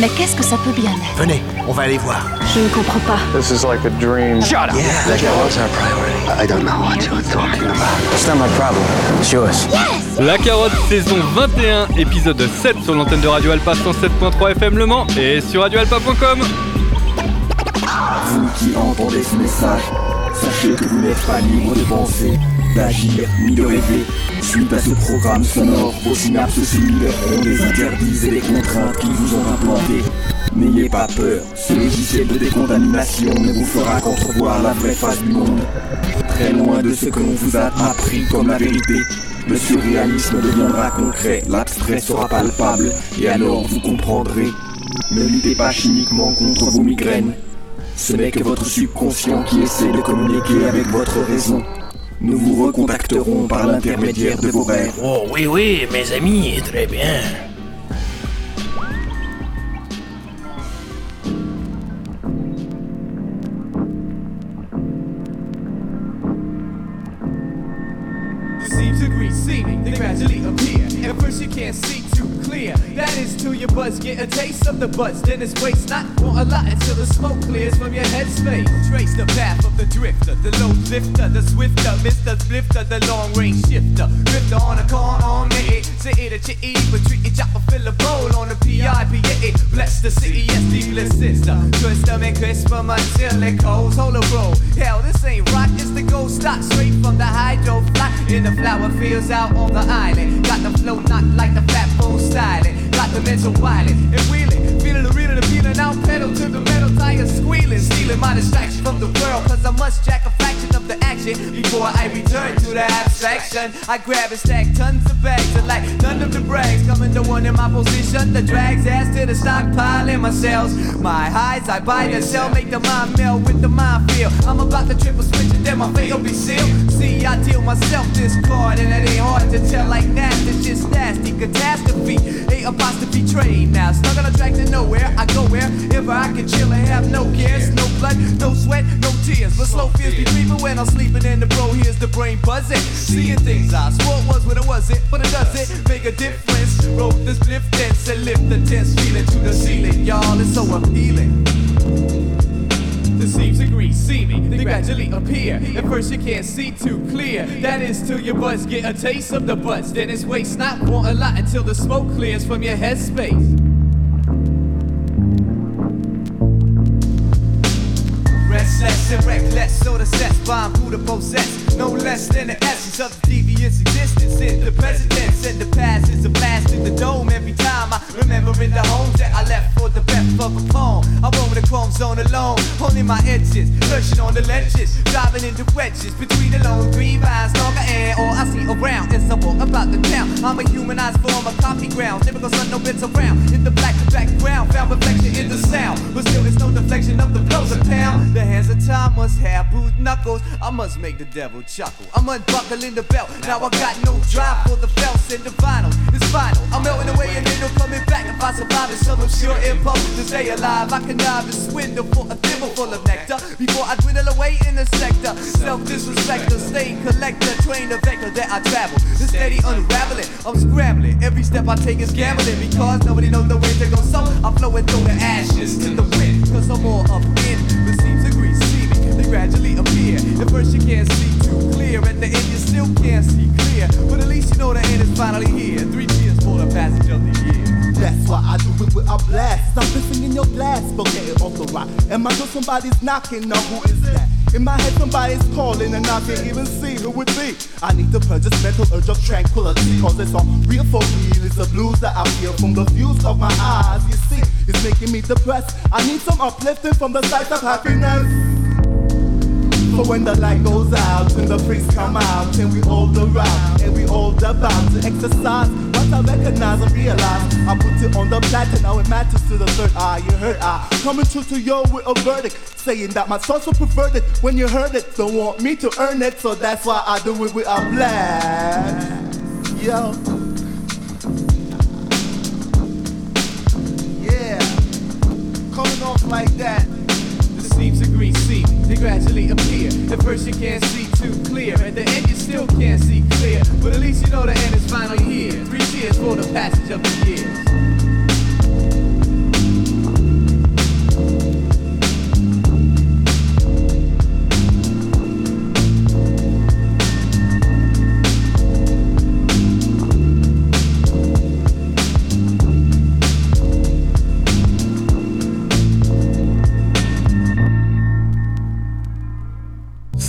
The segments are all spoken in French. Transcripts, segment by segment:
Mais qu'est-ce que ça peut bien être? Venez, on va aller voir. Je ne comprends pas. This is like a dream. Shut up! Yeah, like that was our priority. I don't know what you're talking about. It's not my problem. It's yours. Yes! La Carotte, saison 21, épisode 7 sur l'antenne de Radio Alpa 107.3 FM Le Mans et sur radioalpa.com. Vous qui entendez ce message, sachez que vous n'êtes pas libre de penser, d'agir ni de rêver. Suite à ce programme sonore, vos synapses simuleront des interdits et des contraintes qui vous ont implantés. N'ayez pas peur, ce logiciel de décontamination ne vous fera qu'entrevoir la vraie face du monde. Très loin de ce que l'on vous a appris comme la vérité, le surréalisme deviendra concret, l'abstrait sera palpable, et alors vous comprendrez. Ne luttez pas chimiquement contre vos migraines. Ce n'est que votre subconscient qui essaie de communiquer avec votre raison. Nous vous recontacterons par l'intermédiaire de vos rêves. Oh oui, mes amis, très bien. Seems agree, seeming, they gradually appear. At first you can't see too clear. That is till your buzz get a taste of the buzz. Then it's waste not for a lot until the smoke clears from your headspace. Trace the path of the drifter, the low lifter, the swifter, Mr. Splifter, the long range shifter. Drifter on a corner on me. Say it at your E, but treat it, chop a fill a bowl on the PIPA. Bless the city, yes, the sister. Twist them and crisp them until it goes. Hold a roll. Hell, this ain't rock, it's the gold stock straight from the hydro fly. In the flower fields out on the island. Got the flow not like the fat bull styling. Got the mental wildin' and wheeling. Feeling the reeling and peeling out pedal to the metal tires squealing. Stealing my distraction from the world, cause I must jack a fraction of the action before I return to the abstraction. I grab and stack tons of bags and like none of the brags. Coming to one in my position, the drags ass to the stockpile in my cells. My highs, I buy the sell, make the mind meld with the mind feel. I'm about to triple switch and then my fate will be sealed. See, I deal myself this card and it ain't hard to tell like that. It's just nasty catastrophe. A apostrophe trade now. Stuck on a track to nowhere. I go wherever I can chill and have no cares. No blood, no sweat, no tears. But slow fears be creeping when I'm sleeping in the bro. Here's the brain buzzing. Seeing things I swore it was when it wasn't. But it doesn't make a difference. Roll this lift dance and lift the tense feeling to the ceiling. Y'all, it's so appealing. The seams agree, seeming, they gradually appear. At first you can't see too clear. That is till your buzz get a taste of the buzz. Then it's waste not want a lot until the smoke clears from your headspace. Restless and reckless, so the sets bomb who to possess. No less than the essence of the devious existence in the present tense. And the past is a blast in the dome every time I remember in the homes that I left for the breath of a poem. I roam in the chrome zone alone, holding my edges, lurching on the ledges, driving into wedges between the lone green vines, longer air, all I see around as I walk about the town. I'm a humanized form of coffee ground, typical sun, no bits around. In the black background, found reflection in the sound, but still it's no deflection of the blows of pound. The hands of time must have bruised knuckles. I must make the devil chuckle. I'm unbuckling the belt. Now I got no drive for the felts and the vinyl. It's final. I'm melting away and ain't no coming back. If I survive in some obscure impulse to stay alive, I connive and swindle for a thimble full of nectar before I dwindle away in the sector. Self-disrespecter, stay collector, train the vector that I travel. The steady unraveling, I'm scrambling. Every step I take is gambling because nobody knows the way to go. So I'm flowing through the ashes to the wind, cause I'm more up in the seams agree, seeming, they gradually appear. At first you can't see too clear, at the end you still can't see clear, but at least you know the end is finally here. 3 cheers for the passage of the year. That's why I do it with a blast. Stop listening in your glass, but get it off the rock. And my door somebody's knocking, now who is that? In my head somebody's calling and I can't even see who it be. I need to purge this mental urge of tranquility, cause it's all real for real. It's the blues that I feel from the views of my eyes. You see, it's making me depressed. I need some uplifting from the sight of happiness. For when the light goes out and the priests come out and we all around and we all about to exercise what I recognize and realize. I put it on the platter, now it matters to the third eye. You heard I coming true to you with a verdict, saying that my thoughts were perverted. When you heard it, don't want me to earn it, so that's why I do it with a blast. Yo. Yeah. Coming off like that. Seems agree, see, they gradually appear. At first you can't see too clear, at the end you still can't see clear, but at least you know the end is finally here. 3 cheers for the passage of the years.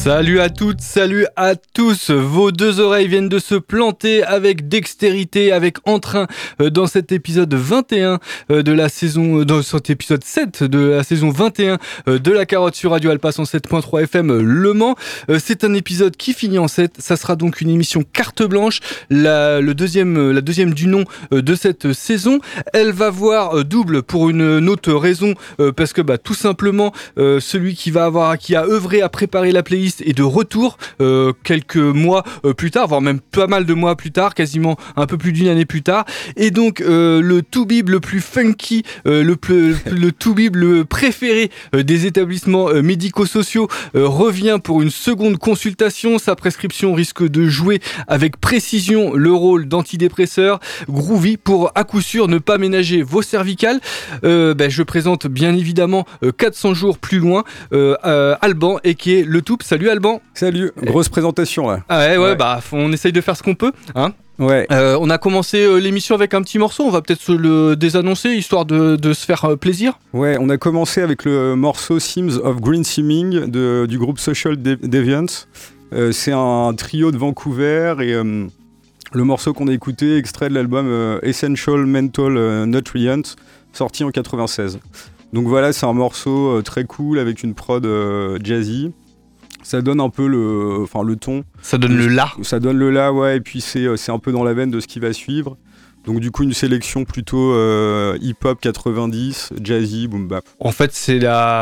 Salut à toutes, salut à tous. Vos deux oreilles viennent de se planter avec dextérité, avec entrain dans cet épisode 21 de la saison, dans cet épisode 7 de la saison 21 de La Carotte sur Radio Alpa 107.3 FM Le Mans. C'est un épisode qui finit en 7. Ça sera donc une émission carte blanche, la deuxième du nom de cette saison. Elle va voir double pour une autre raison, parce que tout simplement celui qui a œuvré à préparer la playlist est de retour quelques mois plus tard, voire même pas mal de mois plus tard, quasiment un peu plus d'une année plus tard. Et donc le toubib le plus funky, le toubib le préféré des établissements médico-sociaux revient pour une seconde consultation. Sa prescription risque de jouer avec précision le rôle d'antidépresseur. Groovy pour à coup sûr ne pas ménager vos cervicales. Je présente bien évidemment 400 jours plus loin Alban et qui est le Toup. Salut Alban. Salut, grosse présentation là. Ah ouais. On essaye de faire ce qu'on peut, hein. Ouais. On a commencé l'émission avec un petit morceau, on va peut-être se le désannoncer histoire de se faire plaisir. Ouais, on a commencé avec le morceau Themes of Green Seeming du groupe Social Deviants. C'est un trio de Vancouver et le morceau qu'on a écouté, extrait de l'album Essential Mental Nutrient, sorti en 96. Donc voilà, c'est un morceau très cool avec une prod jazzy. Ça donne un peu le ton. Ça donne le la. Ça donne le la, ouais, et puis c'est un peu dans la veine de ce qui va suivre. Donc du coup une sélection plutôt hip-hop 90, jazzy, boom bap. En fait c'est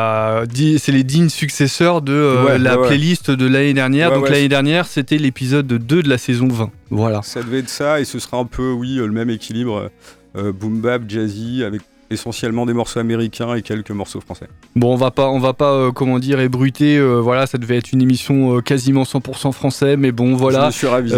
les dignes successeurs de la playlist de l'année dernière. Donc l'année dernière c'était l'épisode 2 de la saison 20. Voilà. Ça devait être ça et ce sera un peu le même équilibre boom bap, jazzy avec essentiellement des morceaux américains et quelques morceaux français. Bon, on va pas ébruiter, voilà, ça devait être une émission quasiment 100% français, mais bon, voilà. Je me suis ravisé.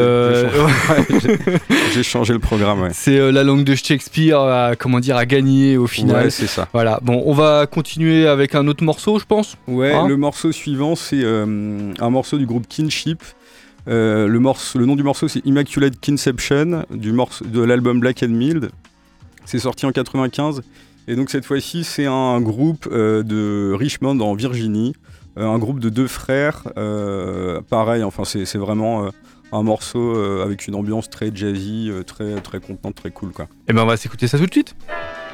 J'ai changé le programme, ouais. C'est la langue de Shakespeare à gagner au final. Ouais, c'est ça. Voilà. Bon, on va continuer avec un autre morceau, je pense. Ouais, le morceau suivant, c'est un morceau du groupe Kinship. Le nom du morceau, c'est Immaculate Conception, de l'album Black and Mild. C'est sorti en 95 et donc cette fois-ci c'est un groupe de Richmond en Virginie, un groupe de 2 frères, pareil, enfin c'est vraiment un morceau avec une ambiance très jazzy, très, très contenante, très cool quoi. Et on va s'écouter ça tout de suite.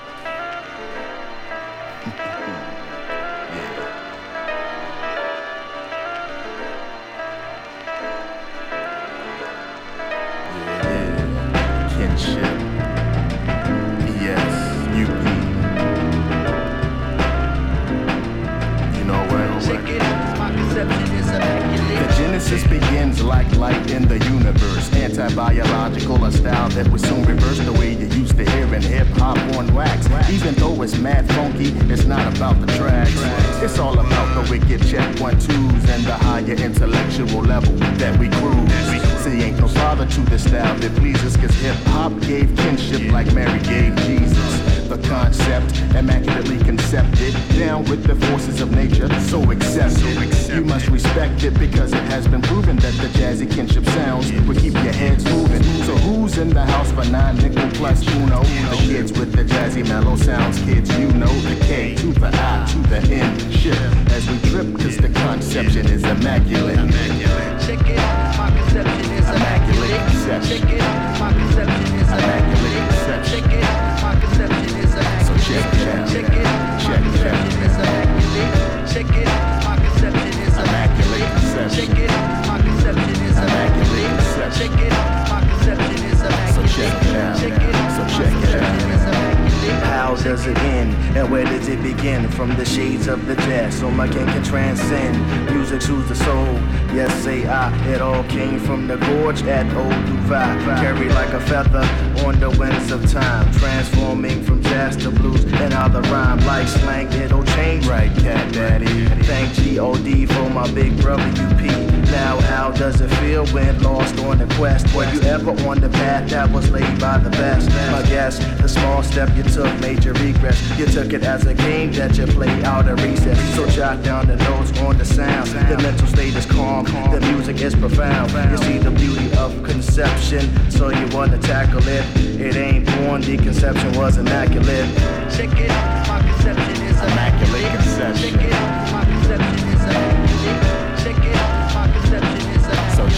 Begins like light in the universe. Anti-biological, a style that would soon reverse the way you used to hear in hip-hop on wax. Even though it's mad funky, it's not about the tracks. It's all about the wicked check 1-2s and the higher intellectual level that we cruise. See, ain't no father to this style that pleases, cause hip-hop gave kinship like Mary gave Jesus. The concept, immaculately concepted, down with the forces of nature, so accept it. You must respect it because it has been proven that the jazzy kinship sounds will keep your heads moving. So who's in the house for 9 nickel plus uno? The kids with the jazzy mellow sounds, kids you know the K to the I to the N ship. As we trip cause the conception is immaculate. Check it out, my conception is immaculate. Check it out, my conception is immaculate. Check it out, my conception is immaculate. So check it out, check it out, my conception is immaculate. Check it out, my conception is immaculate. Check it out, my conception is immaculate. Check it out, my conception is immaculate. So check it out, check it out, so check it out. How does it end, and where does it begin? From the shades of the jazz, so my king can transcend. Music soothes the soul, yes say I. It all came from the gorge at Old Dubai. Carried like a feather on the winds of time, transforming from jazz to blues and how the rhyme like slang, it'll change. Right, Cat Daddy. Thank G.O.D. for my big brother UP. Now how does it feel when lost on the quest? Were you ever on the path that was laid by the best? My guess, the small step you took made you regress. You took it as a game that you played out of recess. So jot down the notes on the sound. The mental state is calm, the music is profound. You see the beauty of conception, so you wanna tackle it. It ain't born, the conception was immaculate. Check it out, my conception is immaculate. Check it out, my conception is immaculate. Check it out, my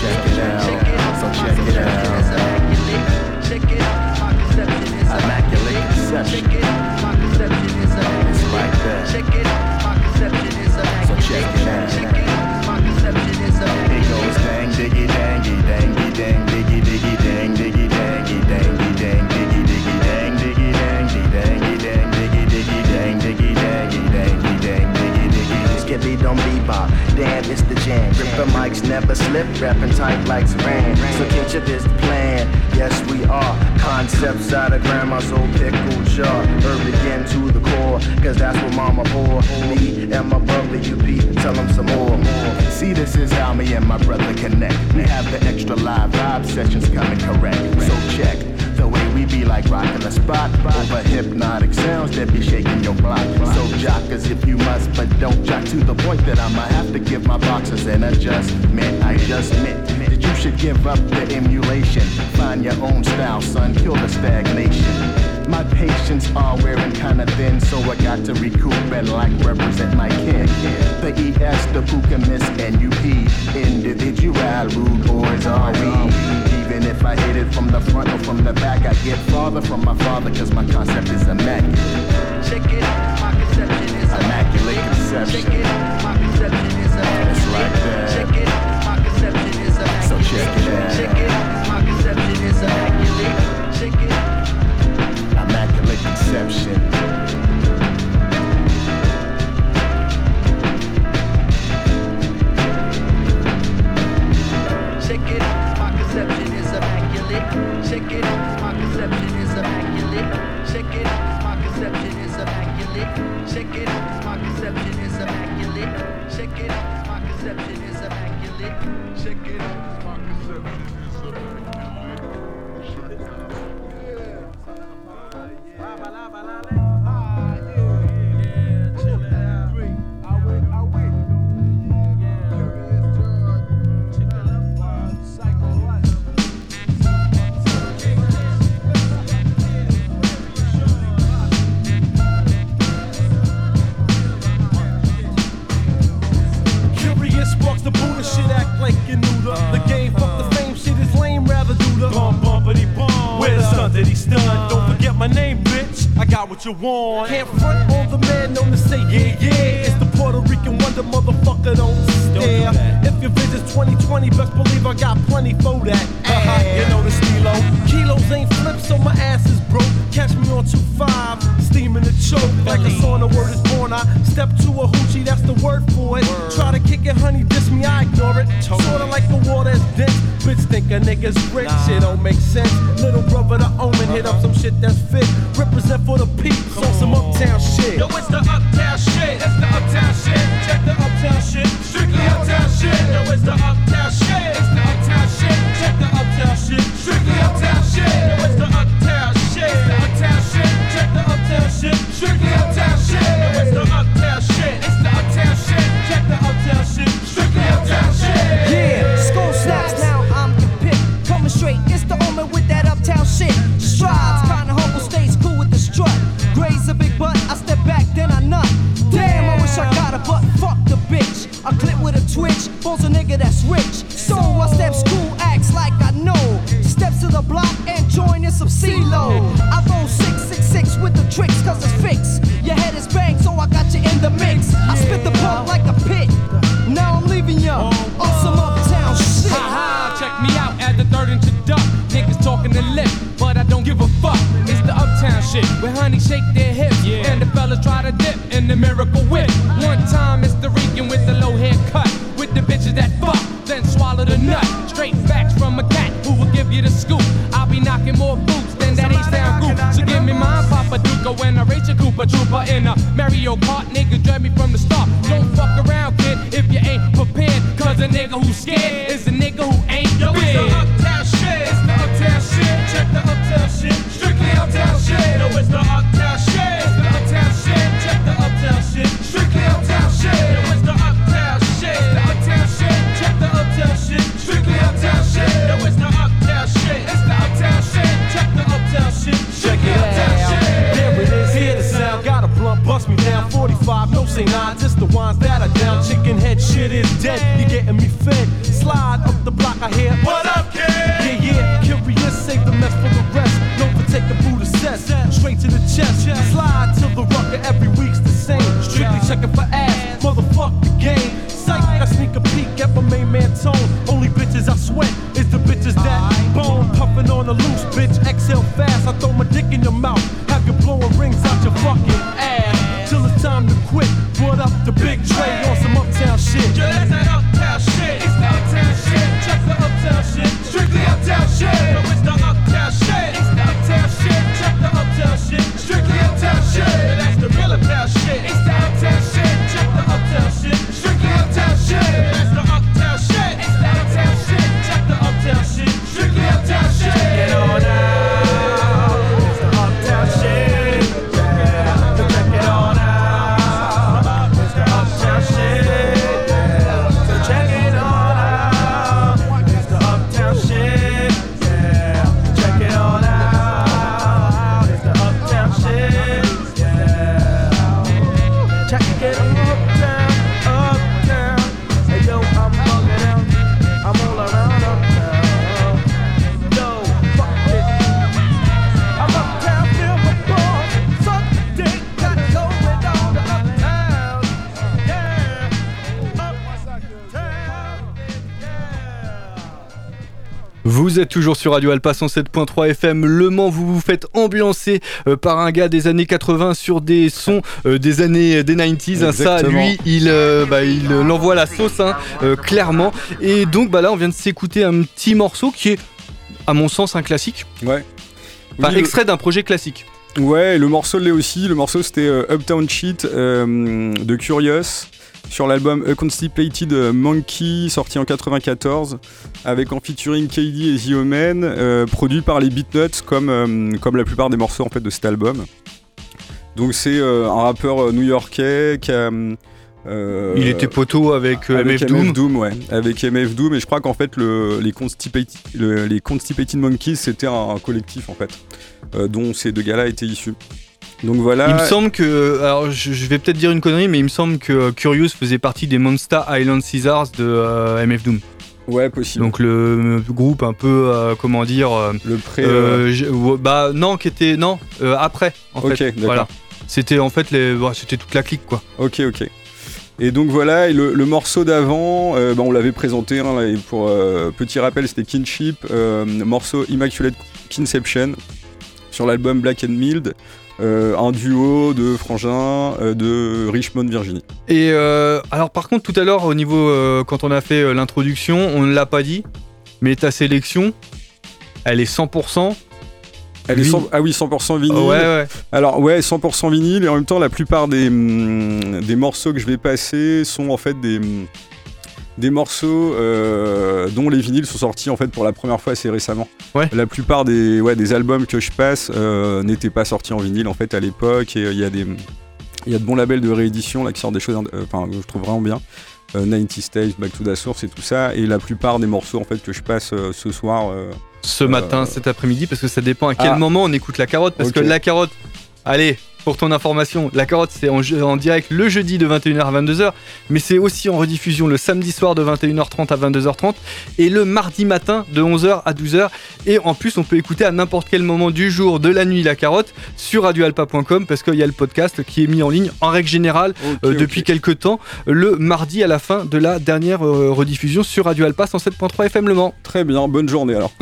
check it out. So check it out. Immaculate conception. It's like that. So check it out. It goes dang diggy dangy dangy dang diggy diggy dang diggy dangy dangy dang diggy diggy dang diggy dangy dangy dang diggy diggy dang diggy dangy dangy dang diggy diggy. Skippy don't bebop, damn it's the jam. Gripper mics never slip, rapping tight like saran. So kinship is the plan, yes we are. Concepts out of grandma's old pickle jar. Again to the core, cause that's what mama bore. Me and my brother UP, tell them some more. See, this is how me and my brother connect. We have the extra live vibe sessions coming correct. So check the way we be like rocking the spot. Over hypnotic sounds that be shaking your block. So jock as if you must, but don't jock to the point that I'ma have to give my boxers an adjustment. I just meant that you should give up the emulation. Find your own style, son, kill the stagnation. My patience are wearing kinda thin, so I got to recoup and like represent my kin. The ES, the Puka Miss, NUP, individual, rude boys are we. Even if I hit it from the front or from the back, I get farther from my father, cause my concept is immaculate. Check it out, my conception is immaculate conception. Check it out, my conception is immaculate. It's like that. Check it out, my conception is immaculate. So check it out. Check it out, my conception is immaculate. Check it out. Immaculate conception. Check it out, my conception is immaculate. Check it out, my conception is immaculate. Check it out, my conception is immaculate. Check it out, my conception is immaculate. Check it out, my conception is immaculate. Check it out, my conception is what you want. Can't front on the man known to say yeah, yeah. It's the Puerto Rican wonder, motherfucker, don't stare. If your visit's 2020, best believe I got plenty for that. You know the stilo. Kilos ain't flipped, so my ass is broke. Catch me on 2-5, steaming the choke. Like a song, the word is born. I step to a hoochie, that's the word for it. Try to kick it, honey, diss me, I ignore it. Sorta like the water is dense. Bitch think a nigga's rich, shit don't make sense. Little brother the omen, hit up some shit that's fit. Represent for the peeps on some uptown shit. Yo, it's the uptown shit, it's the uptown shit. Check the uptown shit, strictly uptown shit. Yo, it's the uptown shit, it's the uptown shit. Check the uptown shit, strictly uptown shit. Yo, it's the uptown shit, it's the uptown shit. Check the uptown shit, strictly uptown shit. Yo, it's the uptown shit, it's the uptown shit. Check the uptown shit, strictly uptown shit. Yeah, school snaps now, I'm the pick. Coming straight, it's the omen with that uptown shit. Strides, kinda humble, stays cool with the strut. Graze a big butt, I step back, then I nut. Damn, I wish I got a butt, fuck the bitch. I clip with a twitch, phone's a nigga that's rich. So I step school, acts like I know. Steps to the block and join in some CeeLo. I roll 666 with the tricks, cause it's fixed. Your head is banged, so I got you in the mix. I spit the pump like a pit. Now I'm leaving ya on some uptown shit. Ha-ha, check me out at the 3rd introduct. Niggas talking the lip, but I don't give a fuck. It's the uptown shit, where honey shake their hips, and the fellas try to dip in the miracle whip. One time it's the Rican with the low haircut, with the bitches that fuck, then swallow the nut. Straight facts from a cat who will give you the scoop. I'll be knocking more boots than that H-Town group. So give me mine, Papa Duca, when I race a Koopa Trooper in a Mario Kart. Nigga dread me from the start. Don't fuck around, kid, if you ain't prepared. Cause a nigga who's scared is a nigga who ain't Yo, it's the uptown shit, it's the uptown shit. Check the uptown shit, strictly uptown shit. Yo, it's the uptown shit, it's the uptown shit. Check the uptown shit, strictly uptown shit. Yo, it's the uptown shit, it's the uptown shit. Check the uptown shit, strictly uptown shit. Yo, it's the uptown shit, it's the uptown shit. Check the uptown shit, strictly uptown shit. There it is, hear the sound, got a blunt, bust me down. 45, no ain't I, just the ones that are down. Chicken head shit is dead, you getting me fed. Slide up the block, I hear, what up, kid? Yeah, curious, save the mess for the rest. Known for taking food assess, straight to the chest. Slide till the rucker, every week's the same. Strictly checking for ass, motherfuck the game. Psych, I sneak a peek at my main man tone. Only bitches I sweat is the bitches that bone. Puffing on the loose, bitch, exhale fast. I throw my dick in your mouth, have you blowing rings out your fucking ass. Till it's time to quit, put up the big tray on some uptown shit. Yeah, that's that uptown shit, it's the uptown shit. Check the uptown shit, strictly uptown shit. No, it's the uptown shit, it's the uptown shit. Check the uptown shit, strictly uptown shit. Yeah, that's the real uptown shit, it's the uptown shit. Check the uptown shit, strictly uptown shit. Yeah, that's the uptown shit, it's the uptown shit. Check the uptown shit, strictly uptown shit. Get on out, it's the uptown shit. Yeah, check it on out, it's the uptown shit. Yeah, so check it on out, it's the uptown shit. Yeah, check it on out, it's the uptown shit. Yeah, check it uptown, uptown. Hey yo, I'm bugging out, I'm all around uptown. Yo, fuck it, I'm uptown, feel my ball. Suck the dick, got it going on to uptown. Yeah, uptown. Vous êtes toujours sur Radio Alpa 107.3 FM Le Mans, vous vous faites ambiancer par un gars des années 80 sur des sons des années des 90s, hein, ça lui il envoie la sauce, hein, clairement. Et donc là on vient de s'écouter un petit morceau qui est à mon sens un classique. Ouais. Enfin, Oui, extrait d'un projet classique. Ouais, le morceau l'est aussi. Le morceau c'était Uptown Cheat de Curious sur l'album A Constipated Monkey sorti en 94 avec en featuring KD et The Omen, produit par les Beatnuts comme la plupart des morceaux en fait de cet album. Donc c'est un rappeur new-yorkais qui a il était poteau avec MF Doom. Ouais, avec MF Doom, et je crois qu'en fait les Constipated Monkeys c'était un collectif en fait dont ces deux gars-là étaient issus. Donc voilà. Il me semble que, alors je vais peut-être dire une connerie, mais il me semble que Curious faisait partie des Monster Island Caesars de MF Doom. Ouais, possible. Donc le groupe un peu, comment dire, le pré. après en fait. D'accord. Voilà. C'était en fait c'était toute la clique quoi. Ok. Et donc voilà, et le morceau d'avant, on l'avait présenté, hein, et pour petit rappel, c'était Kinship, morceau Immaculate Conception sur l'album Black and Mild. Un duo de frangins de Richmond, Virginie. Et alors par contre tout à l'heure au niveau quand on a fait l'introduction, on ne l'a pas dit, mais ta sélection, elle est 100%. Elle est 100% vinyle. Ouais. Alors ouais, 100% vinyle, et en même temps la plupart des morceaux que je vais passer sont en fait des morceaux dont les vinyles sont sortis en fait pour la première fois assez récemment. Ouais. La plupart des albums que je passe n'étaient pas sortis en vinyle en fait à l'époque, et il y a de bons labels de réédition là qui sortent des choses que je trouve vraiment bien. 90 Tapes, Back to the Source et tout ça, et la plupart des morceaux en fait que je passe ce soir ce matin, cet après-midi, parce que ça dépend à quel moment on écoute La Carotte, parce que La Carotte, allez, pour ton information, La Carotte c'est en direct le jeudi de 21h à 22h, mais c'est aussi en rediffusion le samedi soir de 21h30 à 22h30 et le mardi matin de 11h à 12h, et en plus on peut écouter à n'importe quel moment du jour, de la nuit La Carotte sur radioalpa.com, parce qu'il y a le podcast qui est mis en ligne en règle générale depuis quelques temps le mardi à la fin de la dernière rediffusion sur Radio Alpa 107.3 FM Le Mans. Très bien, bonne journée alors.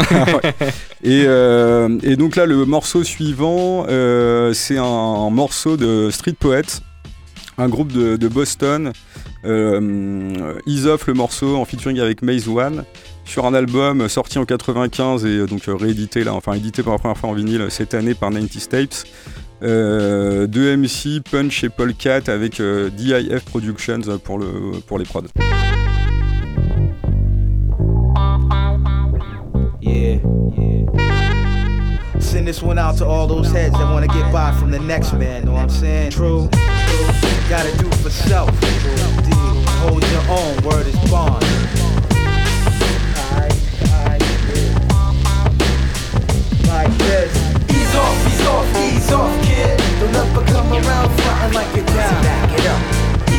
Et donc là le morceau suivant c'est un morceau de Street Poets, un groupe de Boston. Ease Off le morceau en featuring avec Maze One sur un album sorti en 95 et donc réédité édité pour la première fois en vinyle cette année par 90 Tapes. Deux MC, Punch et Paul Cat avec DIF Productions pour les prods. Yeah. Send this one out to all those heads that wanna get by from the next man, know what I'm saying? True. Gotta do for self. Hold your own, word is bond. Like this. Ease off, kid. Don't ever come around frontin' like you're down. Back it up.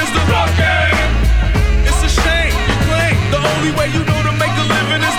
is the rock game. It's a shame you claim the only way you know to make a living is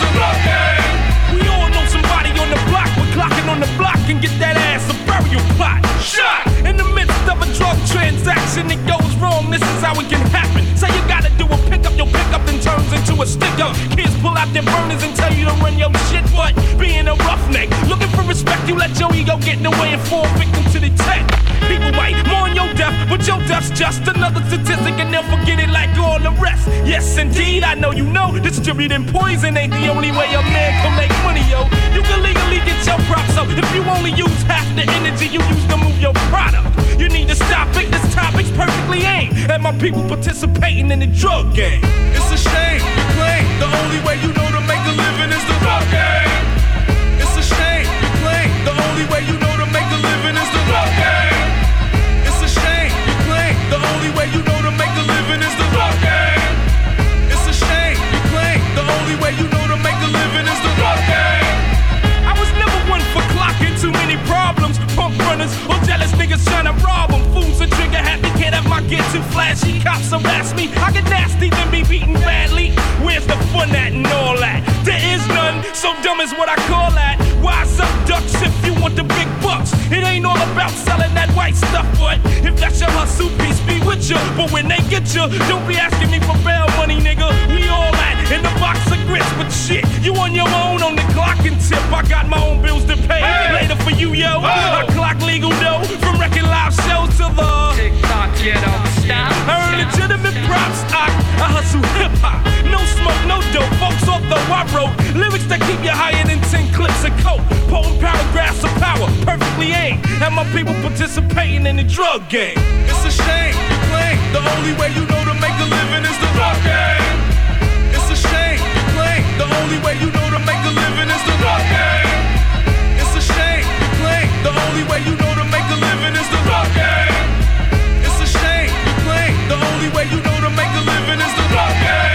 a sticker. Kids pull out their burners and tell you to run your shit, but being a roughneck, looking for respect, you let your ego get in the way and fall victim to the tech. People might mourn your death, but your death's just another statistic and they'll forget it like all the rest. Yes, indeed, I know you know distributing poison ain't the only way a man can make money, yo. You can legally get your props up if you only use half the energy you use to move your product. You need to stop it, this topic's perfectly aimed at my people participating in the drug game. It's a shame you claim the only way you know to make a living is the drug game. It's a shame you claim the only way you know to make a living is the drug game. It's a shame you claim the only way you know to make a living is the drug game. It's a shame you claim the only way you know to make a living is the drug game. I was never one for clocking too many problems. Punk runners or jealous niggas trying to rob them. Fools are trigger happy, can't have my get too flashy. Cops harass me, I get nasty then be beaten badly. Where's the fun at and all that? There is none, so dumb is what I call that. Wise up ducks if you want the big bucks. It ain't all about selling that white stuff, but if that's your hustle, peace be with you. But when they get you, don't be asking me for bail money, nigga. We all at in the box of grits, but shit, you on your own on the clock and tip. I got my own bills to pay. Later for you, yo. I clock legal dough from wrecking live shows to the TikTok, you don't stop. I earn legitimate props. I hustle hip hop. No smoke, no dope. Folks, although I wrote lyrics that keep you higher than 10 clips of coke. Potent paragraphs of power, perfectly aimed at my people participating in the drug game. It's a shame you claim the only way you know to make a living is the drug game. It's a shame you claim the only way you know to make a living is the drug game. It's a shame you claim the only way you know to make a living is the drug game. It's a shame you claim the only way you know to make a living is the drug game.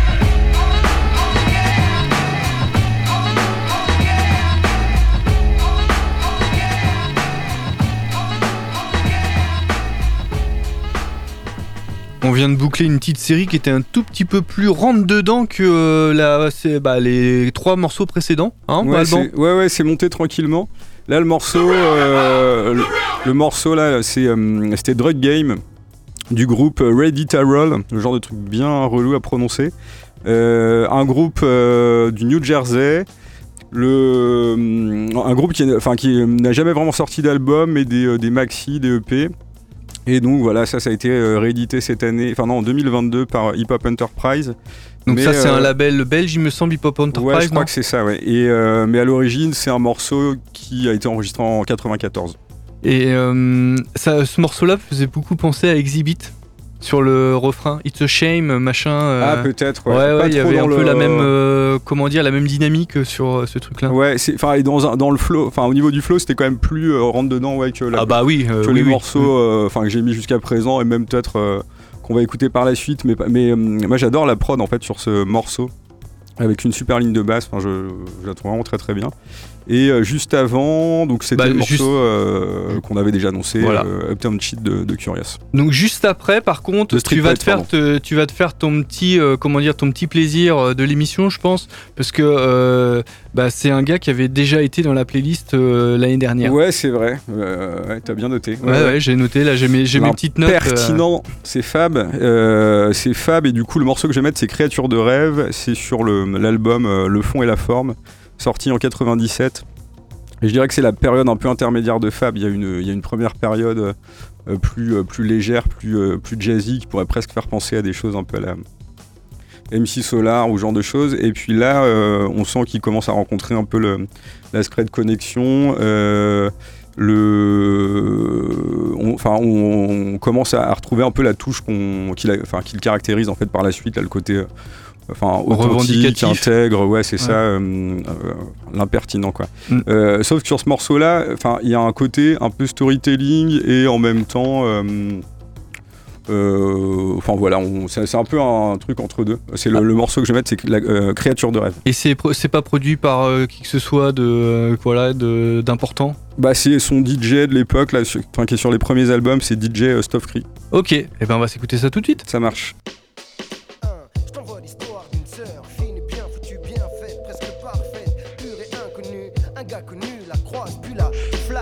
On vient de boucler une petite série qui était un tout petit peu plus rentre-dedans que les 3 morceaux précédents. Hein, ouais, c'est monté tranquillement. Là, le morceau là, c'était Drug Game du groupe Ready to Roll, le genre de truc bien relou à prononcer. Un groupe du New Jersey. Un groupe qui n'a jamais vraiment sorti d'album, mais des maxi, des EP. Et donc voilà, ça a été réédité en 2022 par Hip Hop Enterprise. Donc ça c'est un label belge, il me semble, Hip Hop Enterprise. Ouais, je crois que c'est ça, ouais. Et, mais à l'origine, c'est un morceau qui a été enregistré en 94. Et ce morceau-là faisait beaucoup penser à Exhibit. Sur le refrain, It's a shame, machin. Ah, peut-être, ouais. Il y avait un peu la même, la même dynamique sur ce truc-là. Ouais, dans le flow, au niveau du flow, c'était quand même plus rentre-dedans, ouais, que les morceaux que j'ai mis jusqu'à présent, et même peut-être qu'on va écouter par la suite. Mais moi, j'adore la prod, en fait, sur ce morceau, avec une super ligne de basse, je la trouve vraiment très très bien. Et juste avant, donc c'était le morceau qu'on avait déjà annoncé, Uptown Cheat de Curious. Donc juste après, par contre, tu vas te faire ton petit plaisir de l'émission, je pense, parce que c'est un gars qui avait déjà été dans la playlist l'année dernière. Ouais, c'est vrai. T'as bien noté. Ouais, j'ai noté. Là, j'ai mes petites notes. Pertinent. C'est Fab. Et du coup, le morceau que je vais mettre, c'est Créature de rêve. C'est sur l'album Le fond et la forme, sorti en 97. Et je dirais que c'est la période un peu intermédiaire de Fab. Il y a une première période plus légère, plus jazzy, qui pourrait presque faire penser à des choses un peu à la MC Solar ou ce genre de choses. Et puis là, on sent qu'il commence à rencontrer un peu l'aspect de connexion. On commence à retrouver un peu la touche qui le caractérise en fait par la suite, là, le côté authentique, intègre, c'est ça, l'impertinent, quoi. Sauf que sur ce morceau-là, il y a un côté un peu storytelling et en même temps, c'est un peu un truc entre deux. C'est le morceau que je vais mettre, c'est la Créature de rêve. Et c'est pas produit par qui que ce soit d'important. C'est son DJ de l'époque, là, qui est sur les premiers albums, c'est DJ Stuff Cree. Ok, et on va s'écouter ça tout de suite. Ça marche.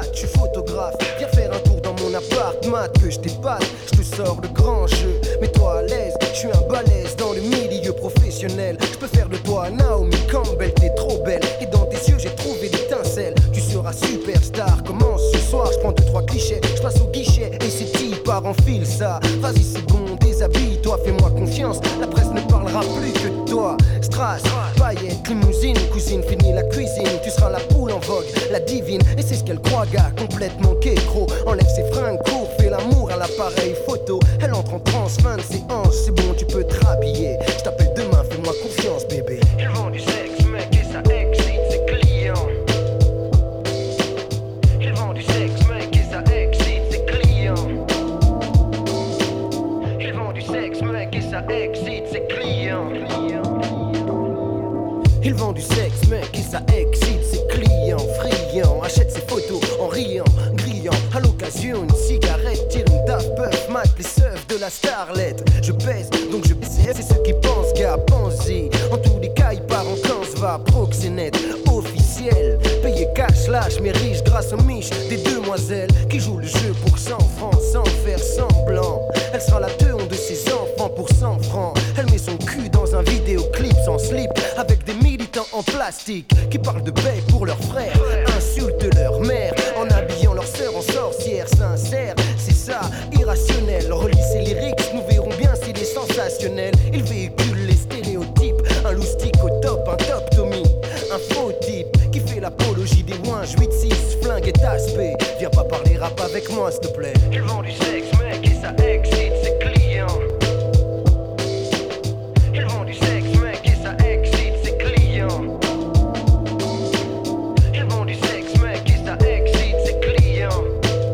date, je suis photographe. Viens faire un tour dans mon appart, mat que je t'épate. Je te sors le grand jeu, mets-toi à l'aise. Je suis un balèze dans le milieu professionnel. Je peux faire de toi Naomi Campbell, t'es trop belle. Et dans tes yeux j'ai trouvé l'étincelle. Tu seras superstar, commence ce soir. Je prends 2-3 clichés, je passe au guichet. Et c'est qui part en file ça. Vas-y c'est bon, déshabille-toi, fais-moi confiance. La presse ne parlera plus que de toi. Strass, paillettes, limousine, cousine, finis la cuisine. Tu seras la poule en vogue, la divine. Et c'est ce qu'elle croit, gars, complètement kékro. Enlève ses fringues, court, fais l'amour à l'appareil photo. Elle entre en transe, fin de séance, c'est bon, tu peux te rhabiller. Je t'appelle demain, fais-moi confiance, bébé. Ils vendent du sexe, mec, et ça excite ses clients. Ils vendent du sexe, mec, et ça excite ses clients. Ils vendent du sexe, mec, et ça excite ses clients. Ils vendent du sexe, mec, et ça excite ses clients. Friand, achète ses photos en riant, grillant. À l'occasion, une cigarette, tire une Daft Puff, mate les seufs de la starlette. Je pèse, donc je baisse, c'est ceux qui pensent, gars, pense-y. En tous les cas, il part en camp, va proxénète, officiel. Payé cash, lâche, mais riche grâce aux miches des demoiselles qui jouent le jeu pour 100 francs sans faire semblant. Elle sera la teune de ses enfants pour 100 francs. Elle met son cul dans un vidéoclip sans slip avec des militants en plastique qui parlent de paix pour leurs frères, insultent leur mère en habillant leur sœur en sorcière sincère. C'est ça, irrationnel. Relis ses lyrics, nous verrons bien s'il est sensationnel. Il véhicule les stéréotypes, un loustic au top, un top Tommy, un faux type qui fait l'apologie des ouinges 8-6, flingue et aspect. Viens pas parler rap avec moi s'il te plaît. Ils vendent du sexe mec et ça excite ses clients. Ils vendent du sexe mec et ça excite ses clients. Ils vendent du sexe mec et ça excite ses clients.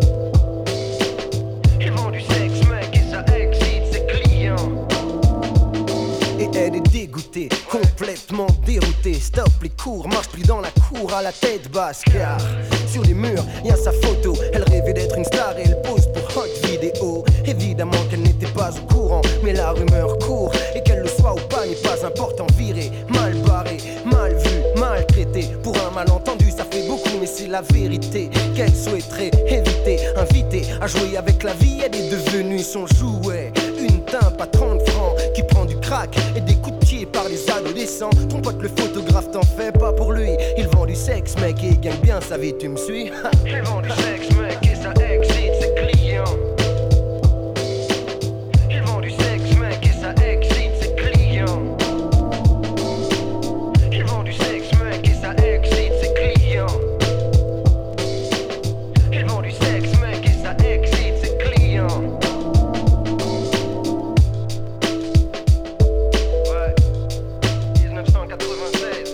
Ils vendent du sexe mec et ça excite ses clients. Et elle est dégoûtée, complètement déroutée. Stop les cours, marche plus dans la cour à la tête basse. Car sur les murs, y'a sa photo. Elle rêvait d'être une star et elle pose pour hot vidéo. Évidemment qu'elle n'était pas au courant, mais la rumeur court. Et qu'elle le soit ou pas n'est pas important. Viré, mal barré, mal vu, maltraité. Pour un malentendu ça fait beaucoup, mais c'est la vérité qu'elle souhaiterait éviter. Invitée à jouer avec la vie, elle est devenue son jouet. Une timpe à 30 francs qui prend du crack et des coups de pied par les adolescents. Ton pote le photographe t'en fait pas pour lui. Il vend du sexe mec et il gagne bien sa vie, tu me suis? Il vend du sexe mec et ça excite ses clients. Il vend du sexe mec et ça excite ses clients. Il vend du sexe mec et ça excite ses clients. Il vend du sexe mec et ça excite ses clients. Ouais, 1996.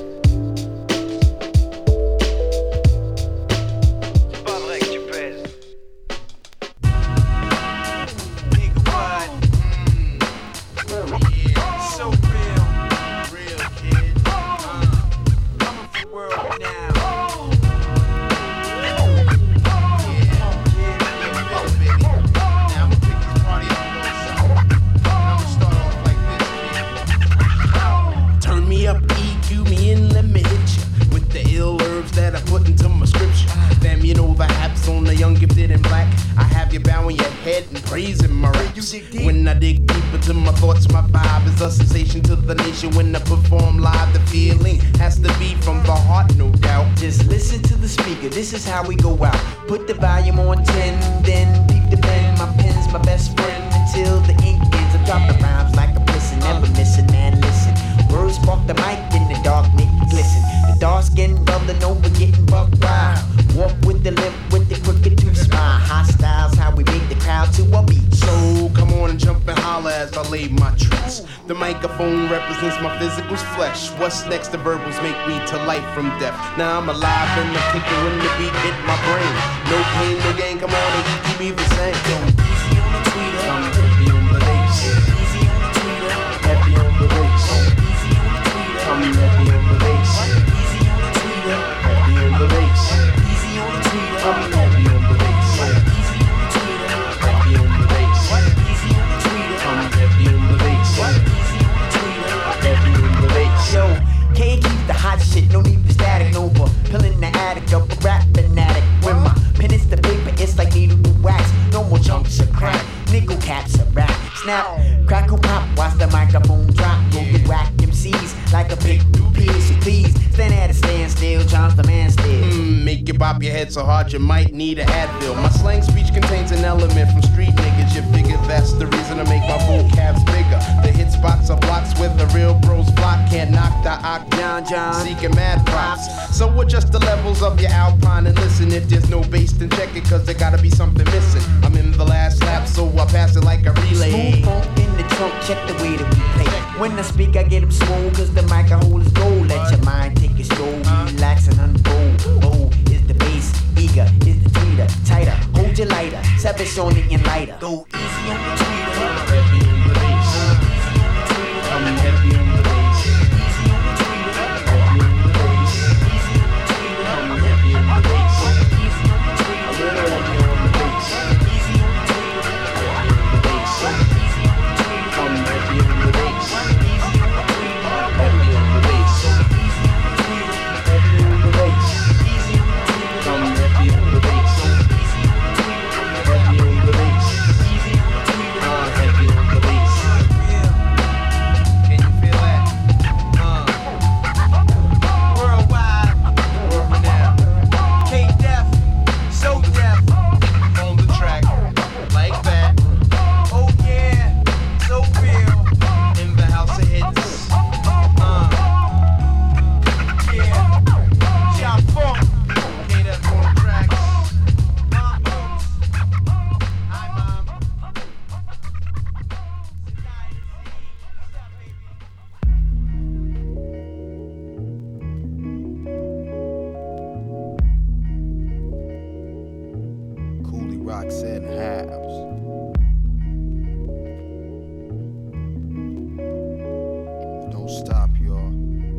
C'est pas vrai que tu pèses. Nigga, what? Yeah, so real kid. Coming for world now. Turn me up, EQ me in, let me hit ya with the ill herbs that I put into my scripture. Fam, you know perhaps on the young gifted and black, I have you bowing your head and praising my raps. When I dig deep into my thoughts, my vibe is a sensation to the nation. When I perform live, the feeling has to be from the heart, no doubt. Just listen to the speaker, this is how we go out. Put the volume on 10, then beat the pen. My pen's my best friend until the ink ends. I drop the rhymes like a pissin', never missing, man, listen. Words spark the mic, in the dark make it glisten. The dark skin bubbling over, getting buck wild. Walk with the lip, with the crooked tooth smile. Hot styles, how we make the crowd to a beat. So come on and jump and holler as I lay my tracks. The microphone represents my physical flesh. What's next? The verbals make me to life from death. Now I'm alive and I'm kicking when the beat hit my brain. No pain, no gain, come on and keep me the same. Easy on the tweeter. I'm heavy on the bass. Easy on the tweeter. Heavy on the bass. Easy on the tweeter. I'm heavy on the bass. Easy on the tweeter. Heavy on the bass. Easy on the tweeter. I'm heavy on the bass. Easy on the tweeter. Heavy on the bass. Easy on the tweeter. I'm heavy on the bass. Easy on the tweeter. Heavy on the bass. Yo, can't keep the hot shit, no need for static, Nova. Pillin' the attic up a rap fanatic. When my pen stand still, Charles the man still. Make you bop your head so hard you might need an Advil. My slang speech contains an element from street niggas. You figure that's the reason to make my vocabs bigger. The hit spots are blocks where the real bros flock. Can't knock the John, seeking mad props. So adjust the levels of your Alpine and listen. If there's no bass, then check it, cause there gotta be something missing. I'm in the last lap, so I pass it like a relay. Smooth funk in the trunk, check the way that we play. When I speak, I get them swole, cause the mic I hold is gold. Let your mind take a stroll, relax and unfold. Oh, is the bass, eager, is the tweeter, tighter, hold your lighter, savage on it and lighter. Go easy on the tweeter. Heavy on the bass. I'm heavy on the bass. Easy on the tweeter. Heavy on the bass. I'm heavy on the bass. Easy on the tweeter. A little heavy on the bass. Easy on the tweeter. Heavy on the bass. Easy on the tweeter. I'm heavy on the bass. Easy on the tweeter. Heavy on the bass. Easy on the tweeter. Heavy on the bass. Easy on the tweeter. I'm heavy on the bass. Easy on the tweeter. Heavy on the bass. Easy on the tweeter. Heavy on the bass. Can you feel that? Worldwide. Now, K-Def. So deaf. on the track, like that, Oh yeah. So real. in the house of hits. Yeah. Chop funk. K-Def on the tracks. Hi, Mom. Cooley Roxanne Habs. Don't stop, y'all.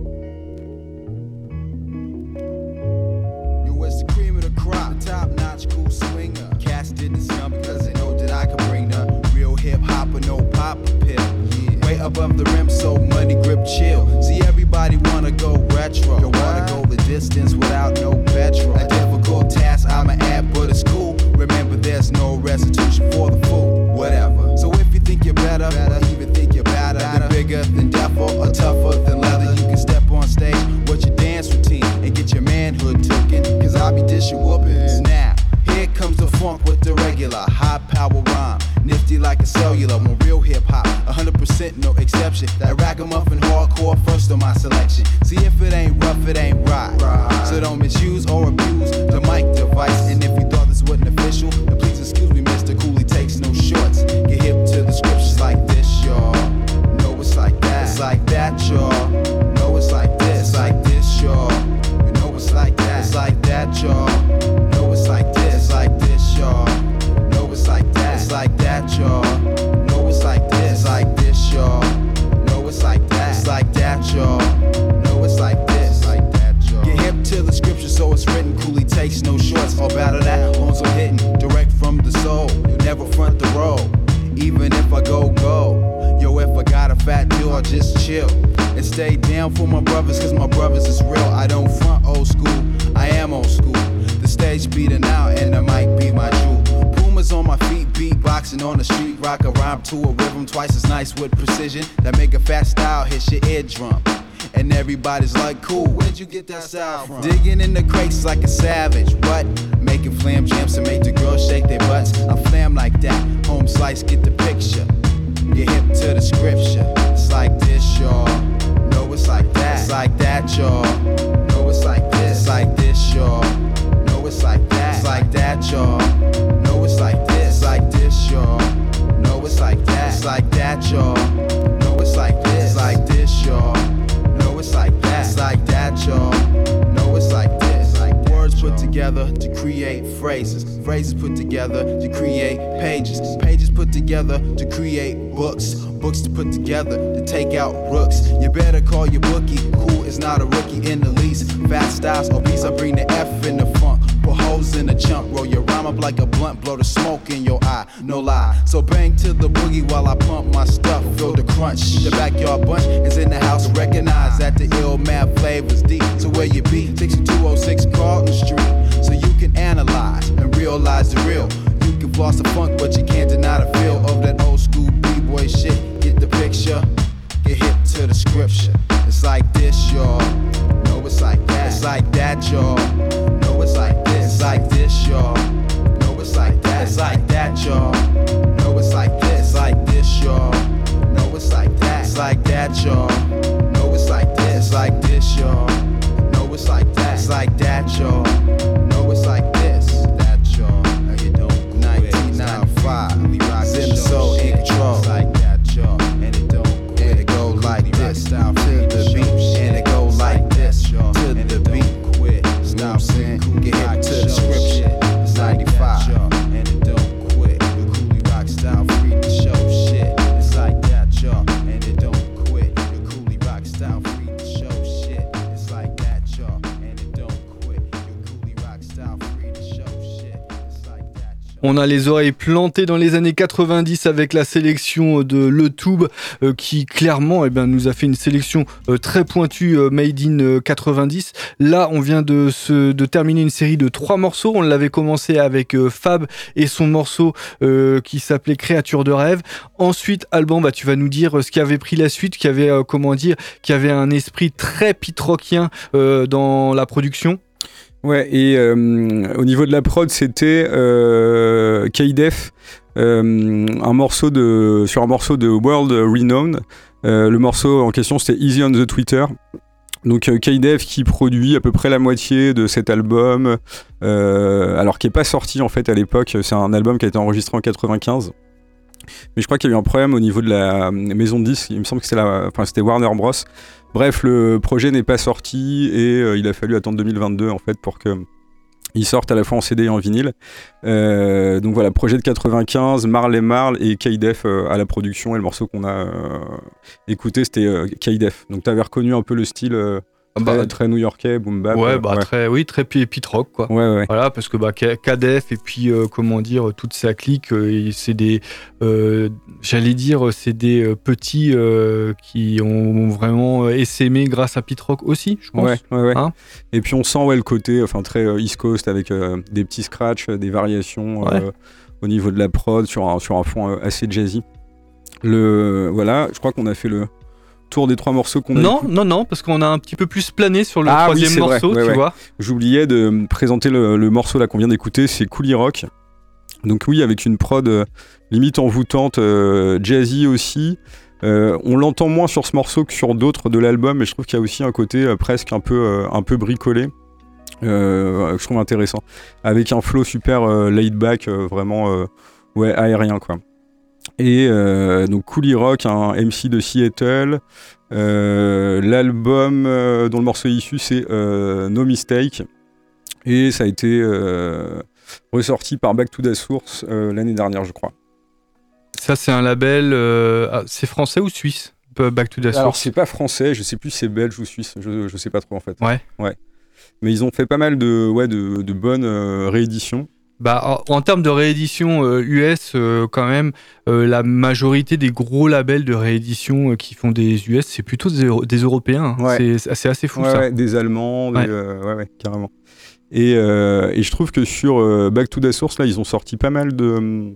Yo, it's the cream of the crop, top-notch cool swinger. Cats didn't scum because they know that I can bring the real hip-hopper, no pop pill. Yeah. Way above the rim, so money grip chill. See, everybody wanna go retro. Don't wanna go the distance without no petrol. A difficult task, I'ma add, but it's cool. Remember, there's no restitution for the fool. Whatever. So if you think you're better, or even think you're better, then bigger than devil or tougher than leather, you can step on stage. What's your dance routine and get your manhood taken? Cause I'll be dishing whoopings. Now, here comes the funk with the regular high power rhyme. Nifty like a cellular, when real hip hop, 100% no exception. That ragamuffin hardcore first on my selection. See, if it ain't rough, it ain't right. So don't misuse or abuse the mic device. And if you thought this wasn't official, then please excuse me, Mr. Cooley takes no shorts. Get hip to the scriptures like this, y'all. No, it's like that. It's like that, y'all. No, it's like this. It's like this, y'all. You know it's like that. It's like that, y'all. No, it's like this. It's like this, y'all. No, it's like that. It's like that, y'all. No, it's like this. It's like this, y'all. No, it's like that. It's like that, y'all. No, it's like this. Like that, y'all. Get hip to the scripture, so it's written. Cooley takes no shorts. All battle that, horns are hitting direct from the soul. You never front the road, even if I go. Yo, if I got a fat deal, I'll just chill and stay down for my brothers, cause my brothers is real. I don't front old school, I am old school. The stage beating out and the mic be my jewel. Pumas on my feet, beatboxing on the street. Rock a rhyme to a rhythm twice as nice with precision. That make a fat style hit your eardrum. And everybody's like, cool, where'd you get that style from? Digging in the crates like a savage, what? Making flam jams to make the girls shake their butts. I flam like that, home slice, get the picture. Get hip to the scripture. It's like this, y'all. No, it's like that. It's like that, y'all. No, it's like this. It's like this, y'all. No, it's like that. It's like that, y'all. No, it's like this. It's like this, y'all. No, it's like that. It's like that, y'all. No, it's like this. It's like this, y'all. No, it's like that. It's like that, y'all. No, it's like this. Like words put together to create phrases. Phrases put together to create pages. Pages put together to create books. Books to put together to take out rooks. You better call your bookie. Cool is not a rookie in the least. Fat styles obese, I bring the F in the funk. Put holes in the chunk, roll your rhyme up like a blunt, blow the smoke in your eye, no lie. So bang to the boogie while I pump my stuff, feel the crunch. The backyard bunch is in the house, recognize that the ill mad flavors deep. So where you be? 6206 Carlton Street. So you can analyze and realize the real. You can floss the funk, but you can't deny the feel of that old school B-boy shit. Get the picture, get hip to the scripture. It's like this, y'all. No, it's like that. It's like that, y'all. No, it's like this. It's like this, y'all. No, it's like that. It's like that, y'all. No, it's like this. Like this, y'all. No, it's like that. It's like that, y'all. No, it's like this. Like this, y'all. No, it's like that. It's like that, y'all. No, it's like this. That, y'all. Now you don't 1995. We rock the soul in control. It's like that, y'all. And it don't. And it go like this. To the beat. And it go like this. To the beat. Quit. Stop saying. Get hit to the scripture. It's 95. And it don't quit. The Cooley Rock style free to show shit. It's like that, y'all. And it don't quit. The Cooley Rock style free to show shit. It's like that, y'all. And it don't quit. The Cooley Rock style free to show shit. It's like that. On a les oreilles plantées dans les années 90 avec la sélection de Le Tube qui clairement nous a fait une sélection très pointue made in 90. Là, on vient de terminer une série de 3 morceaux. On l'avait commencé avec Fab et son morceau qui s'appelait Créature de rêve. Ensuite, Alban, tu vas nous dire ce qui avait pris la suite, qui avait qui avait un esprit très pit-rockien dans la production. Ouais, et au niveau de la prod, c'était K-Def, sur un morceau de World Renowned. Le morceau en question, c'était Easy on the Twitter. Donc K-Def qui produit à peu près la moitié de cet album, alors qui n'est pas sorti en fait à l'époque. C'est un album qui a été enregistré en 95. Mais je crois qu'il y a eu un problème au niveau de la maison de disques. Il me semble que c'était Warner Bros. Bref, le projet n'est pas sorti et il a fallu attendre 2022 en fait pour qu'il sorte à la fois en CD et en vinyle. Donc voilà, projet de 95, Marl et K-Def à la production, et le morceau qu'on a écouté c'était K-Def. Donc t'avais reconnu un peu le style très new-yorkais, boom bap. Ouais, très pit rock quoi. Ouais. Voilà, parce que K-Def et puis toute sa clique, c'est des c'est des petits qui ont vraiment essaimé grâce à pit rock aussi, je pense. Ouais. Hein, et puis on sent le côté très East Coast avec des petits scratchs, des variations au niveau de la prod sur un fond assez jazzy. Voilà, je crois qu'on a fait le tour des 3 morceaux qu'on a écoutés. Non, parce qu'on a un petit peu plus plané sur le troisième morceau, tu vois. J'oubliais de présenter le morceau là qu'on vient d'écouter, c'est Cooley Rock. Donc oui, avec une prod limite envoûtante, jazzy aussi. On l'entend moins sur ce morceau que sur d'autres de l'album, mais je trouve qu'il y a aussi un côté presque un peu bricolé, que je trouve intéressant. Avec un flow super laid back, vraiment aérien quoi. Et donc Cooley Rock, un MC de Seattle. L'album dont le morceau est issu, c'est No Mistake. Et ça a été ressorti par Back to the Source l'année dernière, je crois. Ça, c'est un label. C'est français ou suisse, Back to the Source? Alors, c'est pas français, je sais plus si c'est belge ou suisse, je sais pas trop en fait. Ouais. Mais ils ont fait pas mal de bonnes rééditions. En termes de réédition US, quand même, la majorité des gros labels de réédition qui font des US, c'est plutôt des Européens. Hein. Ouais. C'est assez fou ça. Ouais, des Allemands, carrément. Et je trouve que sur Back to the Source, là, ils ont sorti pas mal de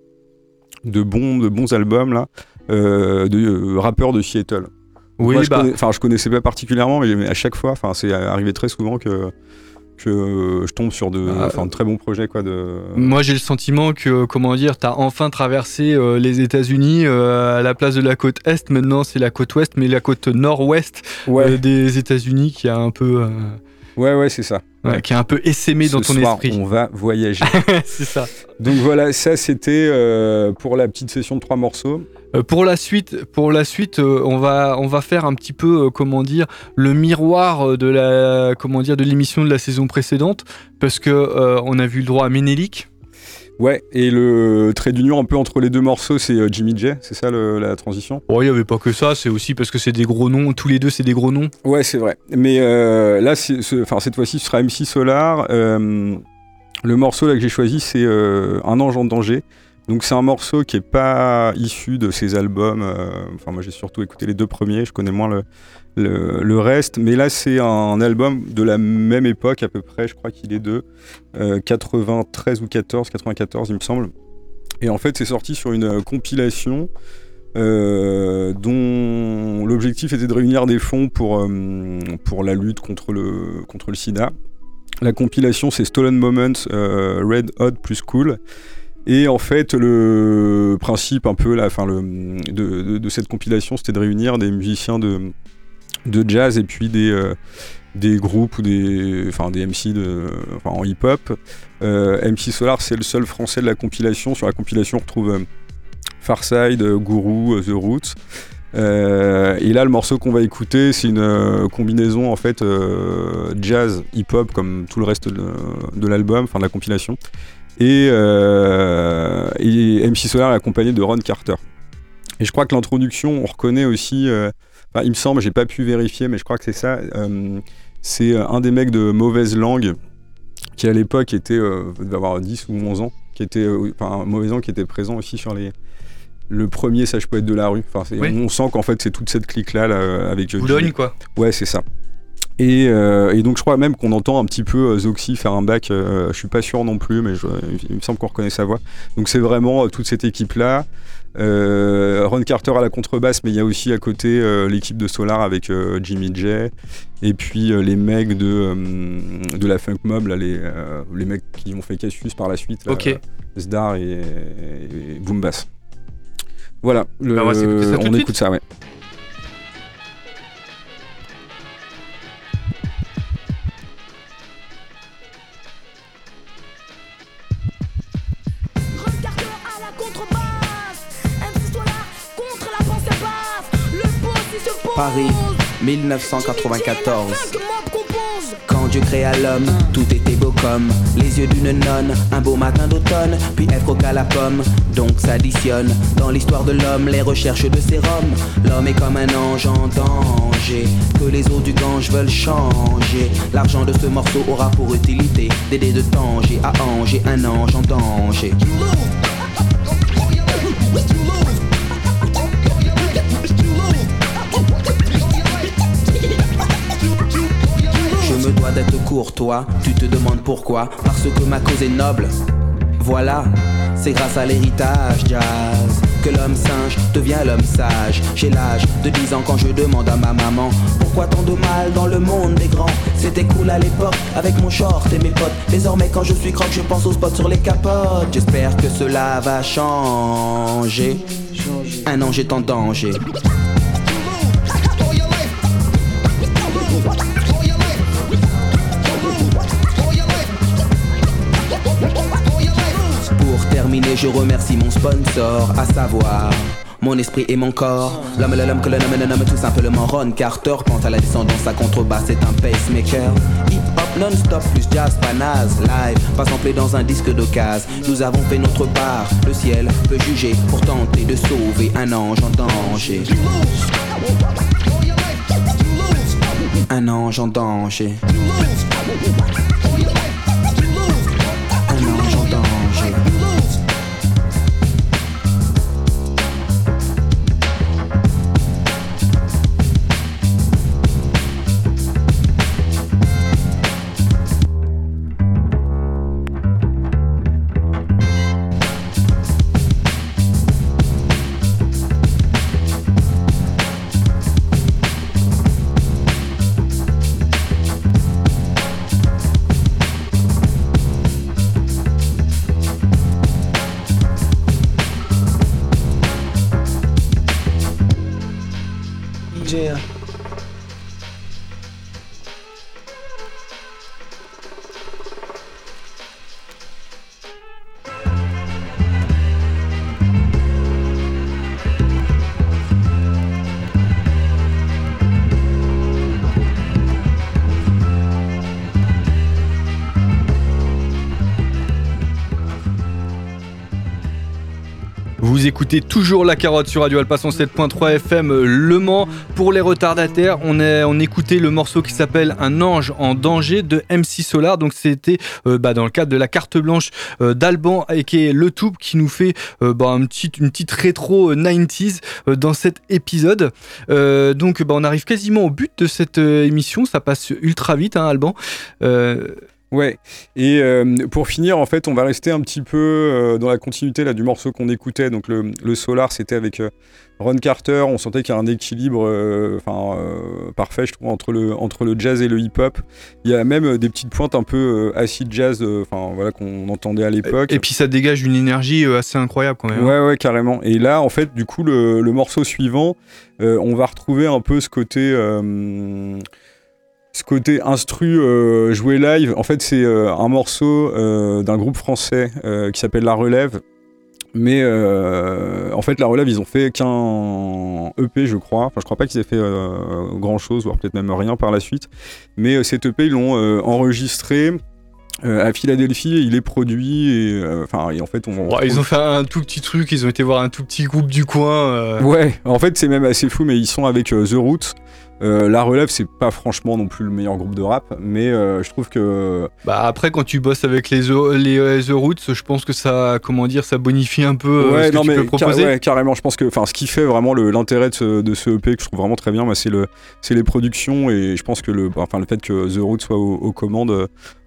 bons albums là, de rappeurs de Seattle. Oui, moi, je connaissais pas particulièrement, mais à chaque fois, c'est arrivé très souvent que je tombe sur de très bons projets quoi. Moi j'ai le sentiment que t'as enfin traversé les États-Unis à la place de la côte Est. Maintenant c'est la côte Ouest, mais la côte Nord-Ouest des États-Unis qui a un peu c'est ça. Qui est un peu essaimé dans ton soir, esprit. On va voyager. C'est ça. Donc voilà, ça c'était pour la petite session de 3 morceaux. Pour la suite, on va faire un petit peu le miroir de l'émission de la saison précédente, parce que on a vu le droit à Ménélique. Ouais, et le trait d'union un peu entre les 2 morceaux, c'est Jimmy J, c'est ça la transition? Il n'y avait pas que ça, c'est aussi parce que c'est des gros noms, tous les deux c'est des gros noms. Ouais, c'est vrai. Mais là, cette fois-ci, ce sera MC Solar. Le morceau là que j'ai choisi, c'est Un ange en danger. Donc c'est un morceau qui est pas issu de ses albums. Moi j'ai surtout écouté les 2 premiers, je connais moins le reste. Mais là c'est un album de la même époque à peu près, je crois qu'il est de 93 ou 94 il me semble. Et en fait c'est sorti sur une compilation dont l'objectif était de réunir des fonds pour la lutte contre le sida. La compilation, c'est Stolen Moments, Red Hot plus Cool. Et en fait, le principe un peu de cette compilation, c'était de réunir des musiciens de jazz et puis des groupes ou des MC en hip-hop. MC Solar, c'est le seul français de la compilation. Sur la compilation, on retrouve Pharcyde, Guru, The Roots. Et là, le morceau qu'on va écouter, c'est une combinaison en fait jazz, hip-hop, comme tout le reste de l'album, de la compilation. Et MC Solar est accompagné de Ron Carter. Et je crois que l'introduction, on reconnaît aussi, il me semble, j'ai pas pu vérifier, mais je crois que c'est ça, c'est un des mecs de Mauvaise Langue, qui à l'époque devait avoir 10 ou 11 ans, Mauvaise Langue qui était présent aussi sur le premier sage poète de la rue. Oui. On sent qu'en fait c'est toute cette clique-là avec Boulogne, quoi. Ouais, c'est ça. Et donc je crois même qu'on entend un petit peu Zoxy faire un bac, je suis pas sûr non plus, mais il me semble qu'on reconnaît sa voix. Donc c'est vraiment toute cette équipe-là. Ron Carter à la contrebasse, mais il y a aussi à côté l'équipe de Solar avec Jimmy J, et puis les mecs de la Funk Mob, là, les mecs qui ont fait Cassius par la suite, là, Zdar et Boom Bass. Voilà, on écoute ça, ouais. Paris, 1994. Quand Dieu créa l'homme, tout était beau comme les yeux d'une nonne. Un beau matin d'automne, puis elle croqua la pomme. Donc s'additionne dans l'histoire de l'homme les recherches de sérum. L'homme est comme un ange en danger, que les eaux du Gange veulent changer. L'argent de ce morceau aura pour utilité d'aider de Tanger à Angers un ange en danger. Je me dois d'être courtois, tu te demandes pourquoi. Parce que ma cause est noble. Voilà, c'est grâce à l'héritage jazz que l'homme singe devient l'homme sage. J'ai l'âge de 10 ans quand je demande à ma maman pourquoi tant de mal dans le monde des grands. C'était cool à l'époque avec mon short et mes potes. Désormais quand je suis croque je pense aux spots sur les capotes. J'espère que cela va changer. Un ange est en danger. Pour terminer, je remercie mon sponsor, à savoir mon esprit et mon corps. L'homme que le nomme tout simplement Ron Carter. Quant à la descendance, sa contrebasse c'est un pacemaker. Hip-hop non-stop plus jazz pas naze. Live, pas samplé dans un disque d'occasion. Nous avons fait notre part, le ciel peut juger pour tenter de sauver un ange en danger. Un ange en danger. Un ange en danger. Vous écoutez toujours La Carotte sur Radio Alpha 107.3 FM Le Mans. Pour les retardataires, on écoutait le morceau qui s'appelle Un ange en danger de MC Solar. Donc c'était dans le cadre de la carte blanche d'Alban et qui est le Tube qui nous fait une petite rétro 90s dans cet épisode. Donc on arrive quasiment au but de cette émission. Ça passe ultra vite, hein, Alban. Ouais, et pour finir, en fait, on va rester un petit peu dans la continuité là, du morceau qu'on écoutait. Donc le Solar, c'était avec Ron Carter. On sentait qu'il y a un équilibre parfait, je trouve, entre le jazz et le hip-hop. Il y a même des petites pointes un peu acid jazz voilà, qu'on entendait à l'époque. Et puis ça dégage une énergie assez incroyable quand même. Ouais, carrément. Et là, en fait, du coup, le morceau suivant, on va retrouver un peu ce côté instru joué live. En fait, c'est un morceau d'un groupe français qui s'appelle La Relève. Mais en fait, La Relève, ils ont fait qu'un EP, je crois. Enfin, je crois pas qu'ils aient fait grand chose, voire peut-être même rien par la suite. Mais cet EP, ils l'ont enregistré à Philadelphie, et il est produit et en fait ils ont fait un tout petit truc, ils ont été voir un tout petit groupe du coin. Ouais, en fait c'est même assez fou, mais ils sont avec The Roots. La Relève, c'est pas franchement non plus le meilleur groupe de rap, mais je trouve que... après, quand tu bosses avec les The Roots, je pense que ça, ça bonifie un peu ce que tu peux proposer. Carrément, je pense que ce qui fait vraiment l'intérêt de ce EP, que je trouve vraiment très bien, c'est les productions, et je pense que le fait que The Roots soit aux commandes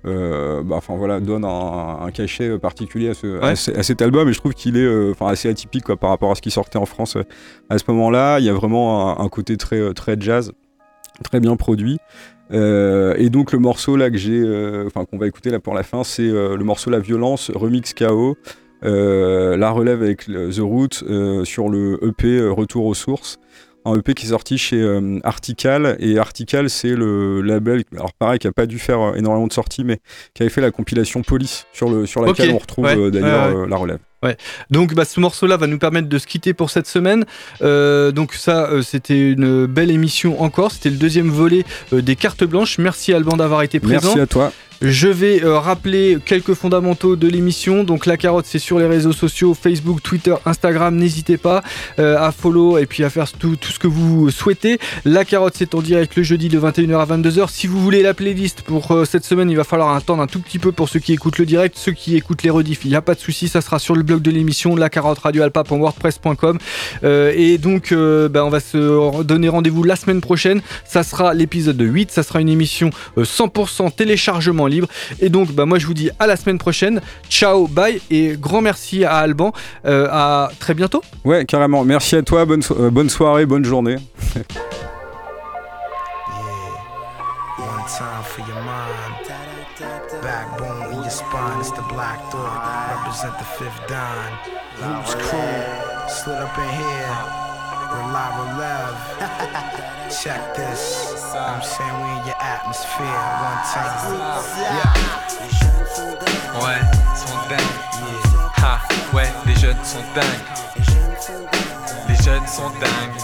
donne un cachet particulier à cet album, et je trouve qu'il est assez atypique par rapport à ce qui sortait en France à ce moment-là. Il y a vraiment un côté très, très jazz, très bien produit. Et donc le morceau là qu'on va écouter là pour la fin, c'est le morceau La Violence, remix KO, La Relève avec The Roots sur le EP Retour aux Sources. Un EP qui est sorti chez Artical, et Artical, c'est le label, alors pareil, qui a pas dû faire énormément de sorties, mais qui avait fait la compilation Police, sur laquelle on retrouve d'ailleurs La Relève. Ouais. Donc ce morceau-là va nous permettre de se quitter pour cette semaine. Donc ça, c'était une belle émission encore. C'était le deuxième volet des cartes blanches. Merci Alban d'avoir été présent. Merci à toi. Je vais rappeler quelques fondamentaux de l'émission. Donc la carotte, c'est sur les réseaux sociaux, Facebook, Twitter, Instagram. N'hésitez pas à follow et puis à faire tout ce que vous souhaitez. La carotte, c'est en direct le jeudi de 21h à 22h. Si vous voulez la playlist pour cette semaine, il va falloir attendre un tout petit peu pour ceux qui écoutent le direct. Ceux qui écoutent les rediffs, il n'y a pas de souci, ça sera sur le blog de l'émission, lacarotteradioalpa.wordpress.com. Et donc on va se donner rendez-vous la semaine prochaine. Ça sera l'épisode 8, ça sera une émission 100% téléchargement libre. Et donc moi je vous dis à la semaine prochaine. Ciao, bye, et grand merci à Alban. À très bientôt. Ouais, carrément. Merci à toi, bonne soirée, bonne journée. One time for your mind. Backbone in your spine, it's the Black Thought. Represent the fifth dime. Roots crew, slid up in here. Relève. Check this. I'm saying we in your atmosphere. One time. Yeah. Ouais, sont dingues. Ha, ouais, les jeunes sont dingues. Les jeunes sont dingues.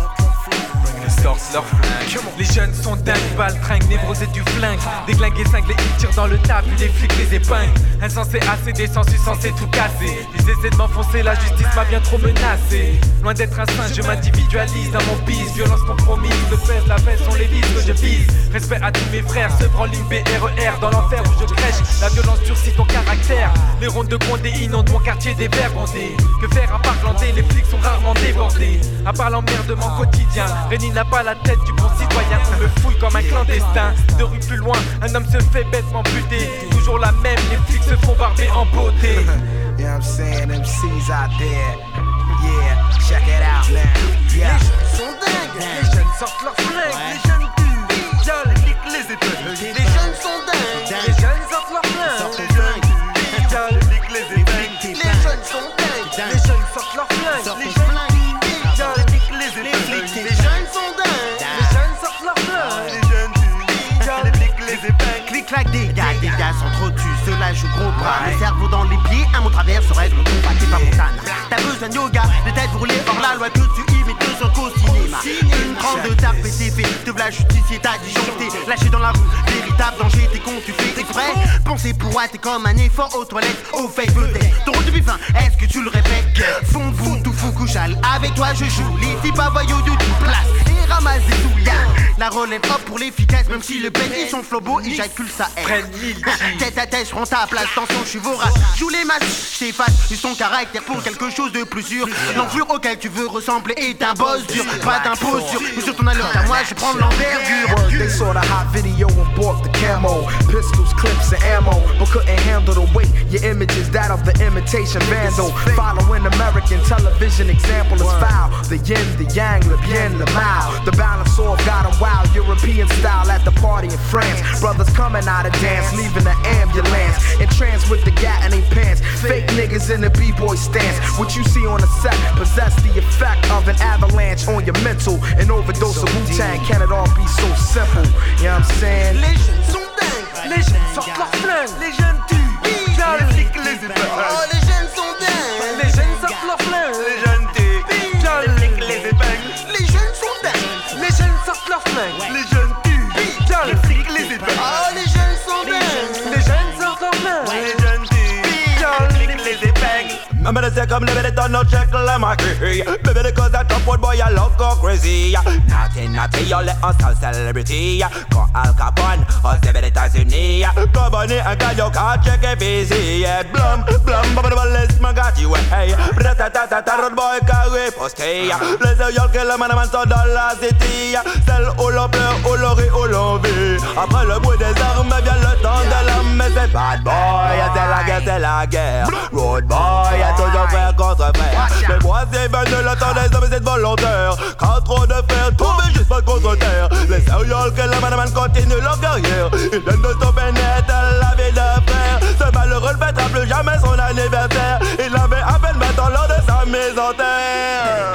Ils sortent leur flingue. Les jeunes sont dingues, baltringues, névrosés du flingue. Déglingués, cinglés, ils tirent dans le tas, puis les flics les épingles. Insensé, assez désensu, censé tout casser. Ils essaient de m'enfoncer, la justice m'a bien trop menacé. Loin d'être un singe, je m'individualise dans mon bise. Violence compromise, le pèse, la baisse sont les vices que je vise. Respect à tous mes frères, se prend ligne BRER. Dans l'enfer où je crèche, la violence durcit ton caractère. Les rondes de Condé inondent mon quartier des verres bondés. Que faire à part glander, les flics sont rarement débordés. À part l'emmerdement quotidien, Réni n'a pas la tête du bon citoyen. On me fouille comme un clandestin. 2 rues plus loin, un homme se fait bêtement buter. Toujours la même, les flics se font barber en beauté. You know what I'm saying? MC's out there. Yeah, check it out now. Yeah. Les jeunes sont dingues. Les jeunes sortent leurs flingues. Les jeunes tuent. Y'a les épaules. Les jeunes sont dingues. Les jeunes sortent leurs flingues. Les jeunes tuent. Y'a les épaules. Les jeunes sont dingues. Les jeunes sortent leurs flingues. Les jeunes tuent. Y'a les épaules. Les jeunes sont dingues. Les jeunes sortent leurs flingues. Les jeunes tuent. Y'a les épaules. Clic-clac, dégâts s'entretuent, cela joue gros bras. Le cerveau dans les pieds, un mot travers se règle, combatté par Montane. T'as besoin de yoga, de tête brûlée par la loi que tu imites sur qu'au cinéma. Une grande tarte pété fait, te v'là justicier, t'as disjoncté. Lâché dans la rue, véritable danger, t'es con, tu fais exprès. Penser pour toi, t'es comme un effort aux toilettes, au fake peut-être. Ton rôle depuis fin, est-ce que tu le répètes? Fond de vous, tout fou, couchal, avec toi je joue. Les types à voyous de toute place, et ramasse des souillards. La relève hop pour l'efficace, même si le pète ils sont flobo, éjacule ça aide. Tête à tête, je prends ta place, attention, je suis vorace. Joue les masses, je t'efface, use ton caractère pour quelque chose de plus sûr. L'enflure auquel tu veux ressembler est un boss dur, pas d'imposture. Mais sur ton allure à moi, je prends l'envergure. They saw the hot video and bought the camo. Pistols, clips, and couldn't handle the weight. Your image is that of the imitation vandal. Following American television example is foul. The yin, the yang, le bien, le mal. The balance off got 'em wild. European style at the party in France. Brothers coming out of dance, leaving the ambulance. Entranced with the gat in their pants. Fake niggas in the b-boy stance. What you see on the set possess the effect of an avalanche on your mental. An overdose of Wu-Tang, can it all be so simple? You know what I'm saying? Les jeunes sont dingues, les jeunes sortent leurs flingues, les jeunes tuent, les flics les épingles. Oh, les jeunes sont dingues, les jeunes sortent leurs flingues, les jeunes tuent, les flics les épingles. Les jeunes sont dingues, les jeunes sortent leurs flingues, les jeunes tuent, les flics les épingles. Oh, les jeunes sont dingues, les jeunes sortent leurs flingues, les jeunes tuent, les flics les épingles. I'm gonna say come live it on no check like my key. Baby because that top boy I love go crazy. Naughty you let us all celebrity. Quand Al Capone aux États-Unis. Compagnie un gars you can't check it busy. Blum blum bubble balance my got you hey. Bratata road boy carré posté. Les yeux que le man sont dans la city. Celle où l'on pleure, où l'on rit, où l'on vit. Après le bruit des armes vient le temps de l'homme. Mais c'est bad boy, c'est la guerre. Road boy. Toujours frère contre frère. Mais moi c'est bien de le temps des hommes et c'est volontaire. Quand trop de fer tombe juste pas contre terre. Les sérieux que le man continue leur carrière. Ils viennent de stopper net la vie de frère. Ce malheureux ne fêtera plus jamais son anniversaire. Il avait à peine 20 ans lors de sa mise en terre.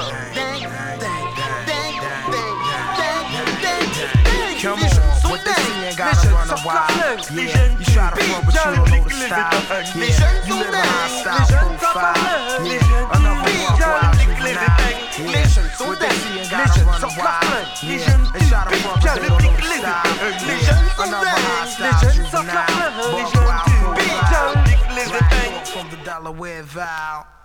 Come on, what they see ain't gotta run a while. Yeah, you try to run but you don't know the style. Yeah, you live a high style profile. Yeah, another one wild juvenile. Yeah, what they see ain't gotta run a while. Yeah, they try to run but they don't know the style. Yeah, another high style juvenile. Buck wild profile. From the Delaware Valley.